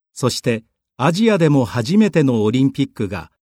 そしてアジアでも初めてのオリンピックが